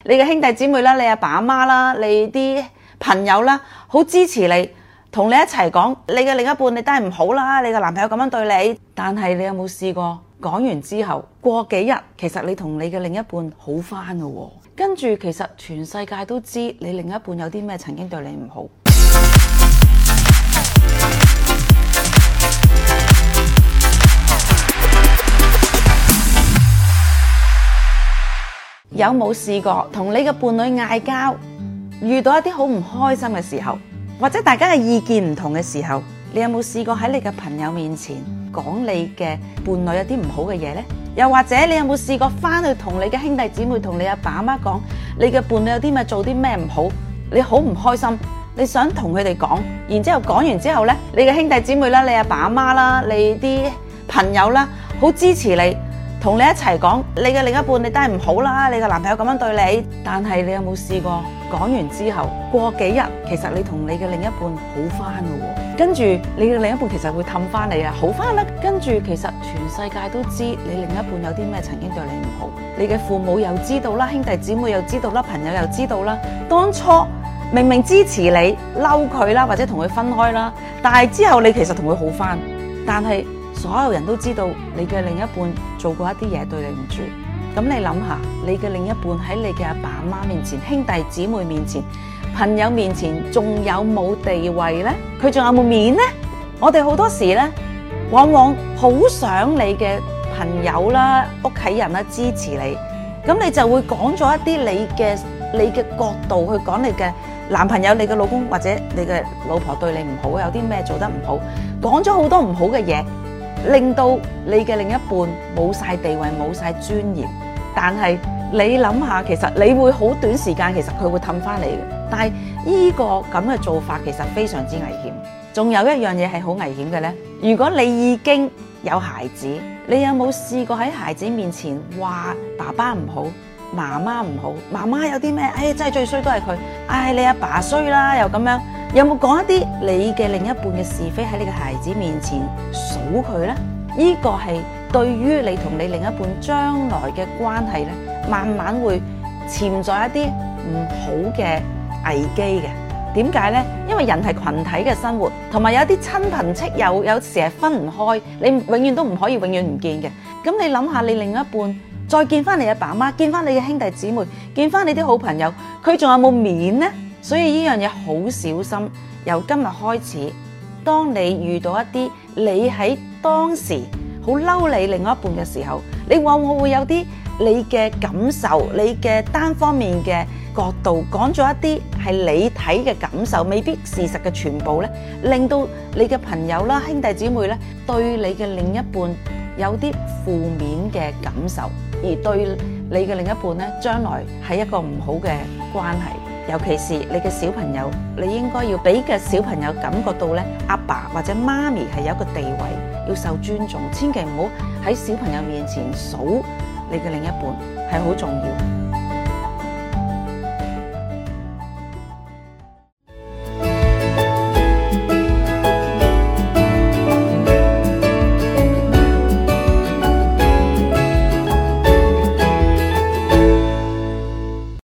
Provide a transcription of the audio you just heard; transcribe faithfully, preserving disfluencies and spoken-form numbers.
你嘅兄弟姊妹啦，你阿爸阿媽啦，你啲朋友啦，好支持你，同你一齊講你嘅另一半你都係唔好啦，你嘅男朋友咁樣對你。但係你有冇試過講完之後過幾日，其實你同你嘅另一半好返㗎喎，跟住其實全世界都知你另一半有啲咩曾經對你唔好。有冇試過同你嘅伴侶嗌交，遇到一啲好唔開心嘅時候，或者大家嘅意見唔同嘅時候，你有冇試過喺你嘅朋友面前講你嘅伴侶有啲唔好嘅嘢呢？又或者你有冇試過翻去同你嘅兄弟姊妹同你阿爸阿媽講你嘅伴侶有啲咩做啲咩唔好，你好唔開心，你想同佢哋講，然之後講完之後呢，你嘅兄弟姊妹啦，你阿爸阿媽啦，你啲朋友啦，好支持你，同你一齊講你嘅另一半你都係唔好啦，你嘅男朋友咁樣對你。但係你有冇試過講完之後過幾日，其實你同你嘅另一半好翻㗎喎，跟住你嘅另一半其實會氹翻你啊，好翻啦。跟住其實全世界都知你另一半有啲咩曾經對你唔好，你嘅父母又知道啦，兄弟姊妹又知道啦，朋友又知道啦。當初明明支持你嬲佢啦，或者同佢分開啦，但係之後你其實同佢好翻，但係所有人都知道你嘅另一半做過一啲嘢對你唔住。咁你諗下，你嘅另一半喺你嘅阿爸阿媽面前、兄弟姊妹面前、朋友面前，仲有冇地位呢？佢仲有冇面呢？我哋好多時呢，往往好想你嘅朋友啦、屋企人啦支持你，咁你就會講咗一啲你嘅你嘅角度去講你嘅男朋友、你嘅老公或者你嘅老婆對你唔好，有啲咩做得唔好，講咗好多唔好嘅嘢，令到你嘅另一半冇晒地位、冇晒尊嚴。但係你諗下，其實你會好短時間，其實佢會氹翻你嘅。但係呢個咁嘅做法其實非常之危險。仲有一樣嘢係好危險嘅呢，如果你已經有孩子，你有冇試過喺孩子面前話爸爸唔好、媽媽唔好？媽媽有啲咩？哎，真係最衰都係佢。哎，你阿爸衰啦，又咁樣。有冇講一啲你嘅另一半嘅是非喺你嘅孩子面前數佢呢？呢個係對於你同你另一半將來嘅關係咧，慢慢會潛在一啲唔好嘅危機嘅。點解呢？因為人係群體嘅生活，同埋有啲親朋戚友，有時係分唔開，你永遠都唔可以永遠唔見嘅。咁你諗下，你另一半再見翻你阿爸媽，見翻你嘅兄弟姊妹，見翻你啲好朋友，佢仲有冇面呢？所以呢樣嘢好小心。由今日開始，當你遇到一啲你喺當時好嬲你另外一半嘅時候，你往往會有啲你嘅感受，你嘅單方面嘅角度講咗一啲係你睇嘅感受，未必事實嘅全部咧，令到你嘅朋友啦、兄弟姊妹咧對你嘅另一半有啲負面嘅感受，而對你嘅另一半咧將來係一個唔好嘅關係。尤其是你嘅小朋友，你應該要俾嘅小朋友感覺到咧，阿爸或者媽咪係有一個地位，要受尊重，千祈唔好喺小朋友面前數你嘅另一半，係好重要。